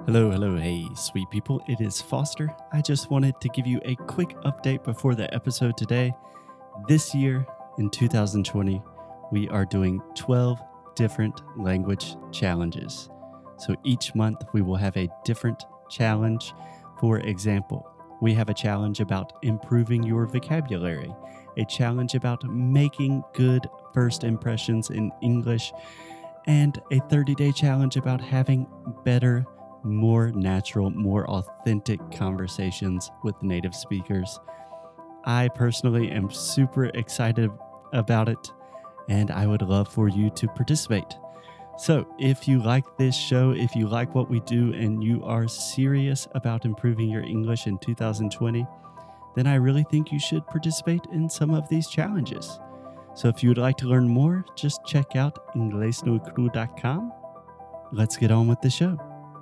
Hello, hello, hey, sweet people. It is Foster. I just wanted to give you a quick update before the episode today. This year, in 2020, we are doing 12 different language challenges. So each month, we will have a different challenge. For example, we have a challenge about improving your vocabulary, a challenge about making good first impressions in English, and a 30-day challenge about having better, more natural, more authentic conversations with native speakers. I personally am super excited about it, and I would love for you to participate. So if you like this show, if you like what we do, and you are serious about improving your English in 2020, then I really think you should participate in some of these challenges. So if you would like to learn more, just check out inglesnocru.com. Let's get on with the show.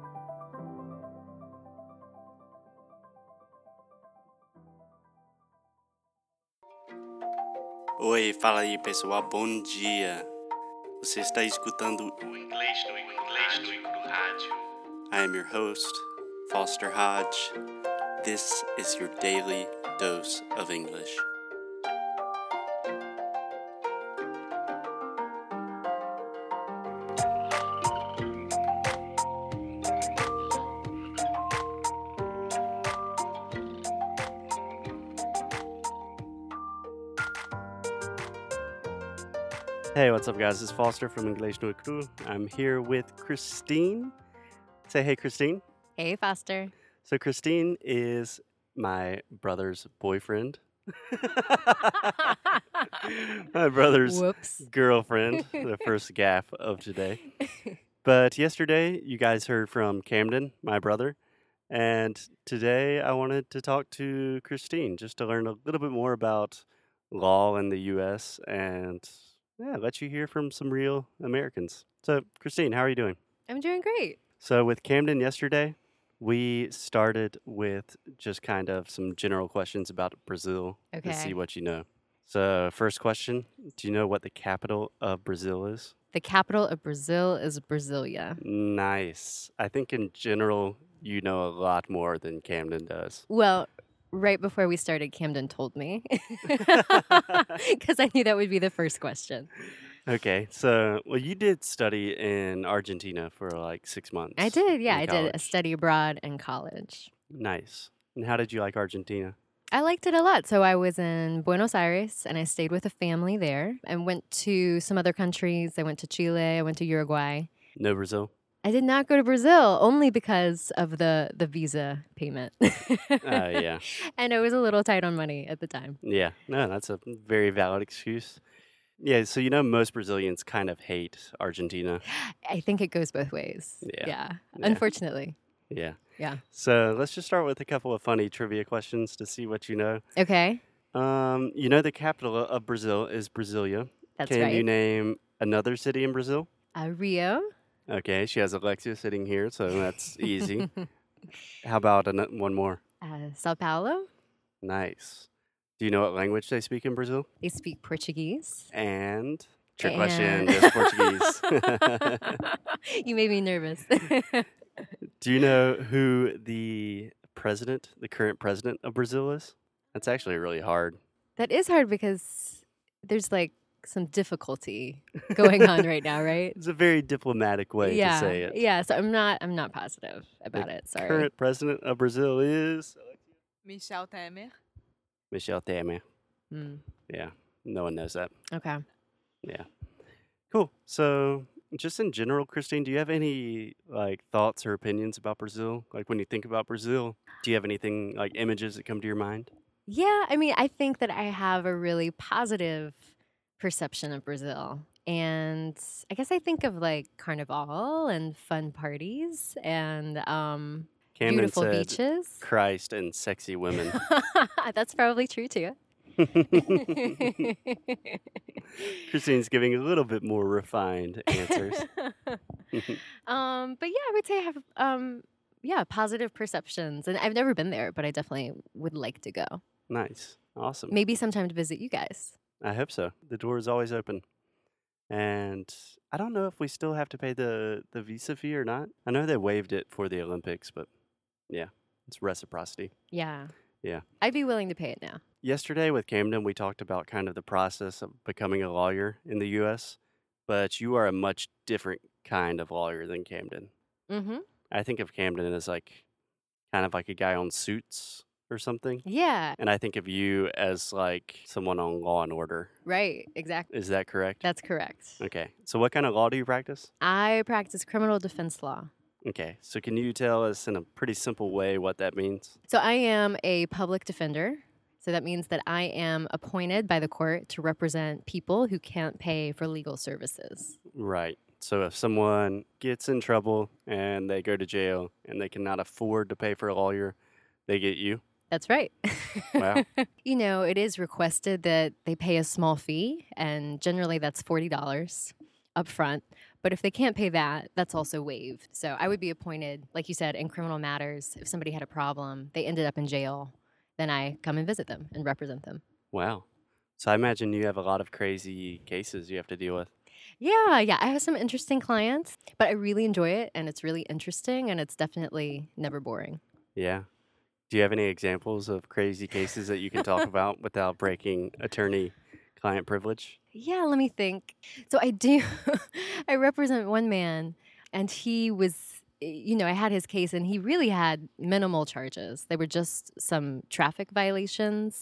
Oi, fala aí pessoal, bom dia. Você está escutando o Inglês no Rádio. I am your host, Foster Hodge. This is your daily dose of English. Hey, what's up, guys? It's Foster from Inglês no Cru. I'm here with Christine. Say hey, Christine. Hey, Foster. So Christine is my brother's boyfriend. My brother's Whoops. girlfriend, the first gaffe of today. But yesterday, you guys heard from Camden, my brother. And today, I wanted to talk to Christine just to learn a little bit more about law in the U.S. and let you hear from some real Americans. So, Christine, how are you doing? I'm doing great. So, with Camden yesterday, we started with just kind of some general questions about Brazil to see Okay. what you know. So, first question, do you know what the capital of Brazil is? The capital of Brazil is Brasilia. Nice. I think in general, you know a lot more than Camden does. Well, right before we started, Camden told me because I knew that would be the first question. Okay, so, well, you did study in Argentina for like 6 months. I did, yeah. in I did a college. study abroad in college. Nice. And how did you like Argentina? I liked it a lot. So I was in Buenos Aires and I stayed with a family there and went to some other countries. I went to Chile, I went to Uruguay. No Brazil? I did not go to Brazil only because of the visa payment. Yeah. And I was a little tight on money at the time. Yeah, no, that's a very valid excuse. Yeah, so you know most Brazilians kind of hate Argentina. I think it goes both ways. Yeah. Yeah. Yeah. Unfortunately. Yeah. Yeah. So let's just start with a couple of funny trivia questions to see what you know. Okay. You know the capital of Brazil is Brasilia. That's Can you right. name another city in Brazil? Rio. Okay, she has Alexia sitting here, so that's easy. How about one more? Sao Paulo. Nice. Do you know what language they speak in Brazil? They speak Portuguese. And trick question, And- just Portuguese. You made me nervous. Do you know who the current president of Brazil is? That's actually really hard. That is hard because there's like some difficulty going on right now, right? It's a very diplomatic way to say it. Yeah, so I'm not positive about it. Sorry. Current president of Brazil is Michel Temer. Michel Temer. Mm, Yeah, no one knows that. okay. Yeah. Cool. So, just in general, Christine, do you have any like thoughts or opinions about Brazil? Like when you think about Brazil, do you have anything like images that come to your mind? Yeah, I mean, I think that I have a really positive perception of Brazil. And I guess I think of like carnival and fun parties and Camden beautiful said beaches. Christ and sexy women. That's probably true too. Christine's giving a little bit more refined answers. But yeah, I would say I have positive perceptions. And I've never been there, but I definitely would like to go. Nice. Awesome. Maybe sometime to visit you guys. I hope so. The door is always open. And I don't know if we still have to pay the visa fee or not. I know they waived it for the Olympics, but yeah, it's reciprocity. Yeah. Yeah. I'd be willing to pay it now. Yesterday with Camden, we talked about kind of the process of becoming a lawyer in the U.S., but you are a much different kind of lawyer than Camden. Mm-hmm. I think of Camden as like kind of like a guy on Suits or something. Yeah. And I think of you as like someone on Law and Order. Right. Exactly. Is that correct? That's correct. Okay. So what kind of law do you practice? I practice criminal defense law. Okay. So can you tell us in a pretty simple way what that means? So I am a public defender. So that means that I am appointed by the court to represent people who can't pay for legal services. Right. So if someone gets in trouble and they go to jail and they cannot afford to pay for a lawyer, they get you. That's right. Wow. You know, it is requested that they pay a small fee, and generally that's $40 up front. But if they can't pay that, that's also waived. So I would be appointed, like you said, in criminal matters. If somebody had a problem, they ended up in jail, then I come and visit them and represent them. Wow. So I imagine you have a lot of crazy cases you have to deal with. Yeah, I have some interesting clients, but I really enjoy it, and it's really interesting, and it's definitely never boring. Yeah. Do you have any examples of crazy cases that you can talk about without breaking attorney-client privilege? Yeah, let me think. So I do, I represent one man, and he was, I had his case, and he really had minimal charges. They were just some traffic violations.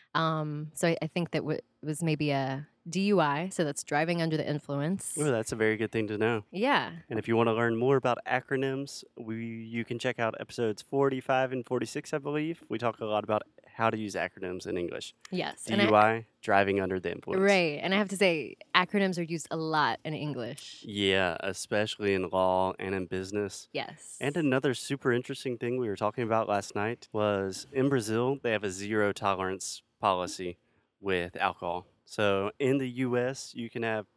So I think that was maybe a DUI, so that's driving under the influence. Oh, that's a very good thing to know. Yeah. And if you want to learn more about acronyms, you can check out episodes 45 and 46, I believe. We talk a lot about how to use acronyms in English. Yes. DUI, driving under the influence. Right. And I have to say, acronyms are used a lot in English. Yeah, especially in law and in business. Yes. And another super interesting thing we were talking about last night was in Brazil, they have a zero tolerance policy with alcohol. So in the U.S., you can have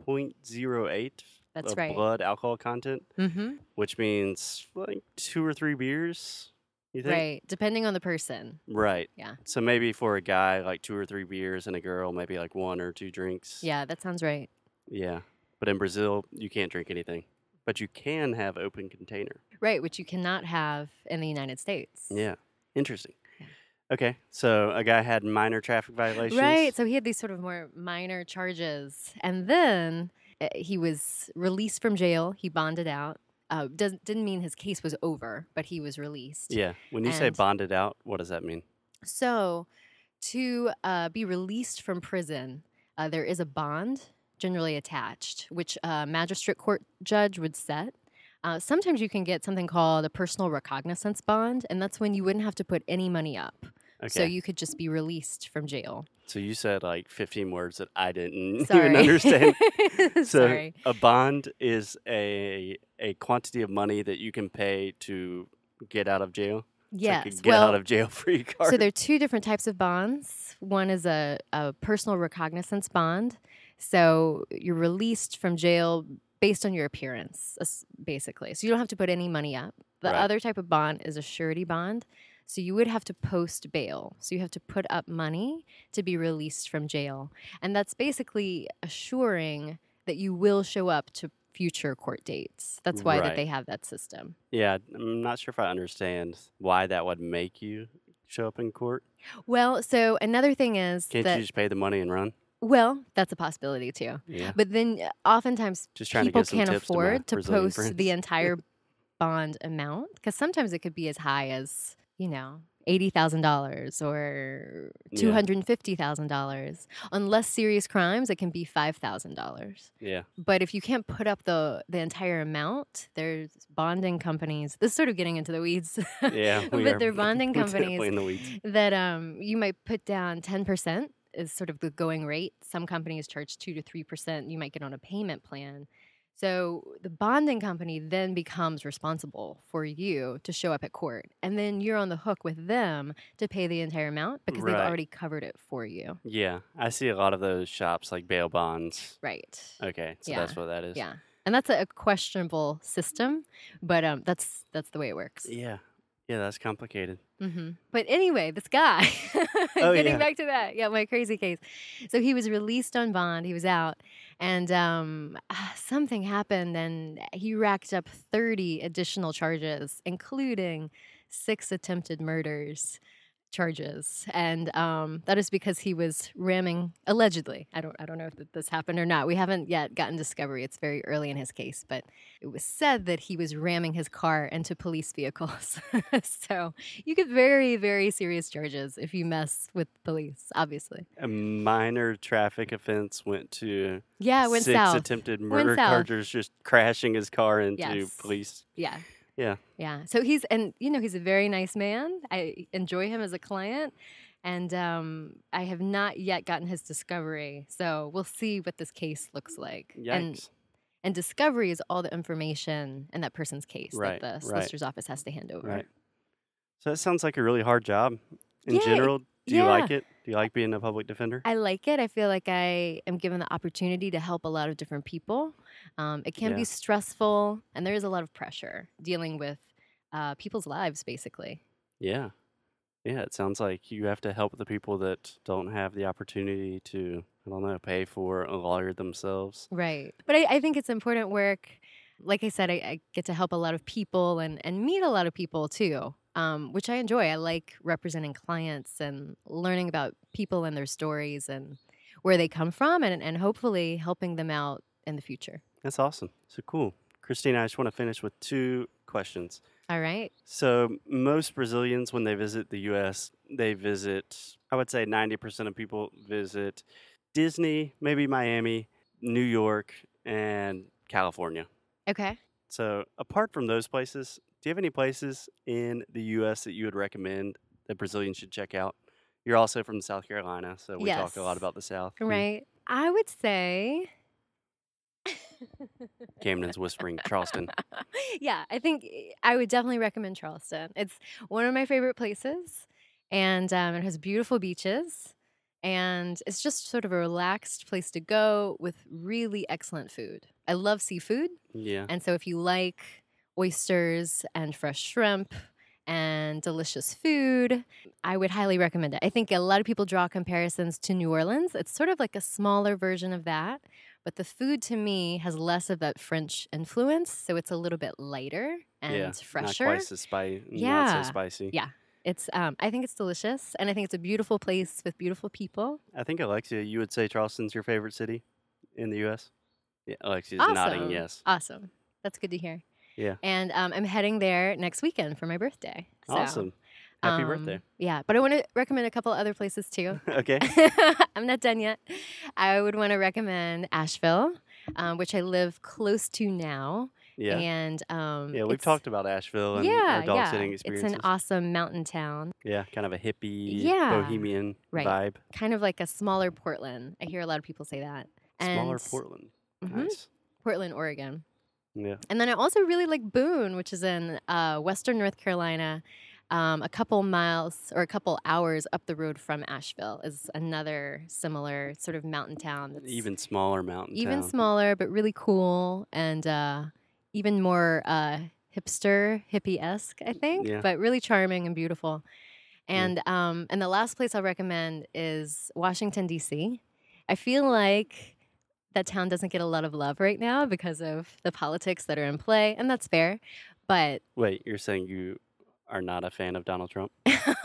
0.08 That's of right. blood alcohol content, Mm-hmm. which means like 2 or 3 beers, you think? Right. Depending on the person. Right. Yeah. So maybe for a guy, like 2 or 3 beers, and a girl, maybe like 1 or 2 drinks. Yeah, that sounds right. Yeah. But in Brazil, you can't drink anything. But you can have open container. Right, which you cannot have in the United States. Yeah. Interesting. Yeah. Okay. So a guy had minor traffic violations. Right. So he had these sort of more minor charges. And then he was released from jail. He bonded out. Didn't mean his case was over, but he was released. Yeah. When you say And- bonded out, what does that mean? So to be released from prison, there is a bond generally attached, which a magistrate court judge would set. Sometimes you can get something called a personal recognizance bond, and that's when you wouldn't have to put any money up. Okay. So you could just be released from jail. So you said like 15 words that I didn't Sorry. even understand. So Sorry. a bond is a quantity of money that you can pay to get out of jail. It's Yes. like a get out of jail free card. So there are two different types of bonds. One is a personal recognizance bond. So you're released from jail based on your appearance, basically. So you don't have to put any money up. The Right. other type of bond is a surety bond. So you would have to post bail. So you have to put up money to be released from jail. And that's basically assuring that you will show up to future court dates. That's why Right. that they have that system. Yeah, I'm not sure if I understand why that would make you show up in court. Well, so another thing is Can't that you just pay the money and run? well, that's a possibility too. Yeah. But then oftentimes Just trying to people get some can't tips to my afford to Brazilian post friends. the entire bond amount because sometimes it could be as high as, $80,000 or Yeah. $250,000. On less serious crimes, it can be $5,000. Yeah. But if you can't put up the entire amount, there's bonding companies. This is sort of getting into the weeds. Yeah. we but are- there are bonding we're definitely companies in the weeds. that you might put down 10% is sort of the going rate. Some companies charge 2 to 3%. You might get on a payment plan. So the bonding company then becomes responsible for you to show up at court. And then you're on the hook with them to pay the entire amount because they've Right. already covered it for you. Yeah. I see a lot of those shops like bail bonds. Right. Okay. So Yeah. that's what that is. Yeah. And that's a questionable system, but that's the way it works. Yeah. Yeah, that's complicated. But anyway, this guy, Oh, getting yeah. back to that, my crazy case. So he was released on bond. He was out, and something happened, and he racked up 30 additional charges, including 6 attempted murders charges, and that is because he was ramming, allegedly. I don't know if this happened or not. We haven't yet gotten discovery. It's very early in his case, but it was said that he was ramming his car into police vehicles. So you get very, very serious charges if you mess with police, obviously. A minor traffic offense went to Yeah, it went 6 south. attempted Went murder south. charges, just crashing his car into Yes. police. Yeah. Yeah. Yeah. So he's a very nice man. I enjoy him as a client. And I have not yet gotten his discovery. So we'll see what this case looks like. Yikes. And discovery is all the information in that person's case Right, that the solicitor's office has to hand over. Right. So that sounds like a really hard job. In Yeah, general, do you yeah. like it? Do you like being a public defender? I like it. I feel like I am given the opportunity to help a lot of different people. It can Yeah. be stressful, and there is a lot of pressure dealing with people's lives, basically. Yeah. Yeah, it sounds like you have to help the people that don't have the opportunity to, I don't know, pay for a lawyer themselves. Right. But I think it's important work. Like I said, I get to help a lot of people and meet a lot of people too, which I enjoy. I like representing clients and learning about people and their stories and where they come from and hopefully helping them out in the future. That's awesome. So cool. Christina, I just want to finish with 2 questions. All right. So most Brazilians, when they visit the U.S., they visit, I would say 90% of people visit Disney, maybe Miami, New York, and California. Okay. So apart from those places, do you have any places in the U.S. that you would recommend that Brazilians should check out? You're also from South Carolina, so we talk a lot Yes. about the South. Right. I would say. Camden's whispering Charleston. Yeah, I think I would definitely recommend Charleston. It's one of my favorite places, and it has beautiful beaches, and it's just sort of a relaxed place to go with really excellent food. I love seafood, Yeah. and so if you like oysters and fresh shrimp and delicious food, I would highly recommend it. I think a lot of people draw comparisons to New Orleans. It's sort of like a smaller version of that. But the food to me has less of that French influence, so it's a little bit lighter and fresher. Not quite so not Yeah. so spicy. Yeah, it's. I think it's delicious, and I think it's a beautiful place with beautiful people. I think, Alexia, you would say Charleston's your favorite city in the U.S.? Yeah, Alexia's nodding yes. Awesome. That's good to hear. Yeah. And I'm heading there next weekend for my birthday. So, Awesome. Happy birthday. Yeah, but I want to recommend a couple other places too. Okay. I'm not done yet. I would want to recommend Asheville, which I live close to now. Yeah. And Yeah, we've talked about Asheville and our dog sitting experiences. It's an awesome mountain town, Yeah, kind of a hippie, Yeah. bohemian Right. vibe. kind of like a smaller Portland. I hear a lot of people say that. Smaller And- Portland. Mhm. Nice. Portland, Oregon. Yeah. And then I also really like Boone, which is in western North Carolina. A couple miles or a couple hours up the road from Asheville is another similar sort of mountain town. That's Even smaller mountain even town. smaller, but really cool and even more hippie-esque, I think, Yeah. but really charming and beautiful. And the last place I'll recommend is Washington, D.C. I feel like that town doesn't get a lot of love right now because of the politics that are in play, and that's fair. But Wait, you're saying you are not a fan of Donald Trump?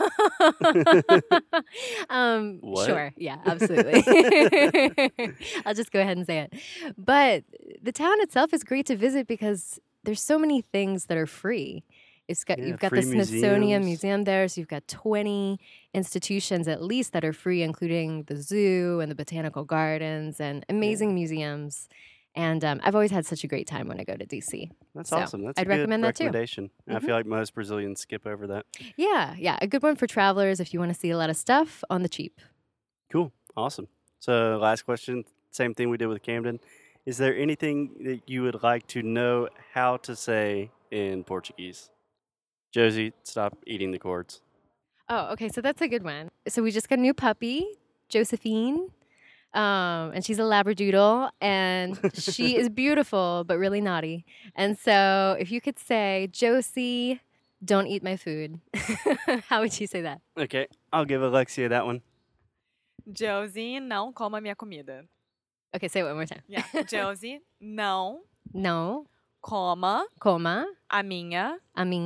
What? Sure, yeah, absolutely. I'll just go ahead and say it. But the town itself is great to visit because there's so many things that are free. You've got the free Smithsonian museums. Museum there, so you've got 20 institutions at least that are free, including the zoo and the botanical gardens and amazing museums. And I've always had such a great time when I go to DC. That's So, awesome. That's I'd a good recommend that too. recommendation. I Mhm. feel like most Brazilians skip over that. Yeah, a good one for travelers if you want to see a lot of stuff on the cheap. Cool. Awesome. So, last question, same thing we did with Camden. Is there anything that you would like to know how to say in Portuguese? Josie, stop eating the cords. Oh, okay, so that's a good one. So we just got a new puppy, Josephine, and she's a Labradoodle, and she is beautiful but really naughty. And so if you could say, Josie, Don't eat my food. How would you say that? Okay, I'll give Alexia that one. Josie, não coma minha comida. Okay, say it one more time. Yeah. Josie, não No coma coma a minha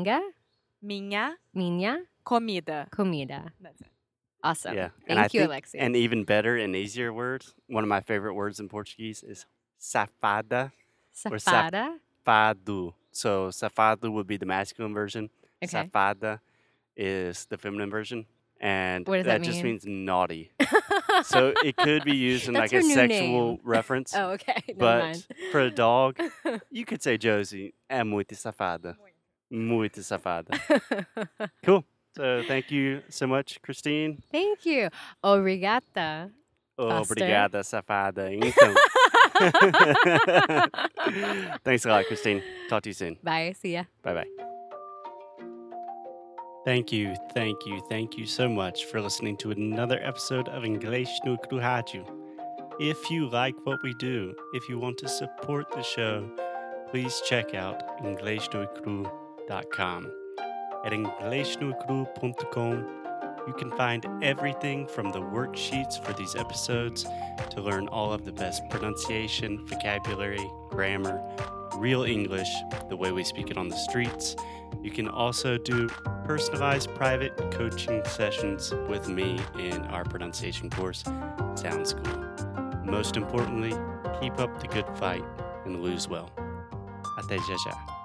minha comida. comida. That's it. Awesome. Yeah. And I Thank you, think Alexia. an even better and easier word, one of my favorite words in Portuguese is safada or Safada. safado. So safado would be the masculine version. Okay. Safada is the feminine version. And What does that just mean? means naughty. So it could be used in That's like a her new sexual name. reference. Oh, okay. Never But mind. for a dog, you could say Josie é muito safada. Muito safada. Cool. So thank you so much, Christine. Thank you. Obrigada. Foster. Obrigada, safada. Então. Thanks a lot, Christine. Talk to you soon. Bye. See ya. Bye-bye. Thank you so much for listening to another episode of Inglês no Cru Rádio. If you like what we do, if you want to support the show, please check out inglesnocru.com. At inglesnocru.com, you can find everything from the worksheets for these episodes to learn all of the best pronunciation, vocabulary, grammar, real English, the way we speak it on the streets. You can also do personalized private coaching sessions with me in our pronunciation course, Sound School. Most importantly, keep up the good fight and lose well. Até já já.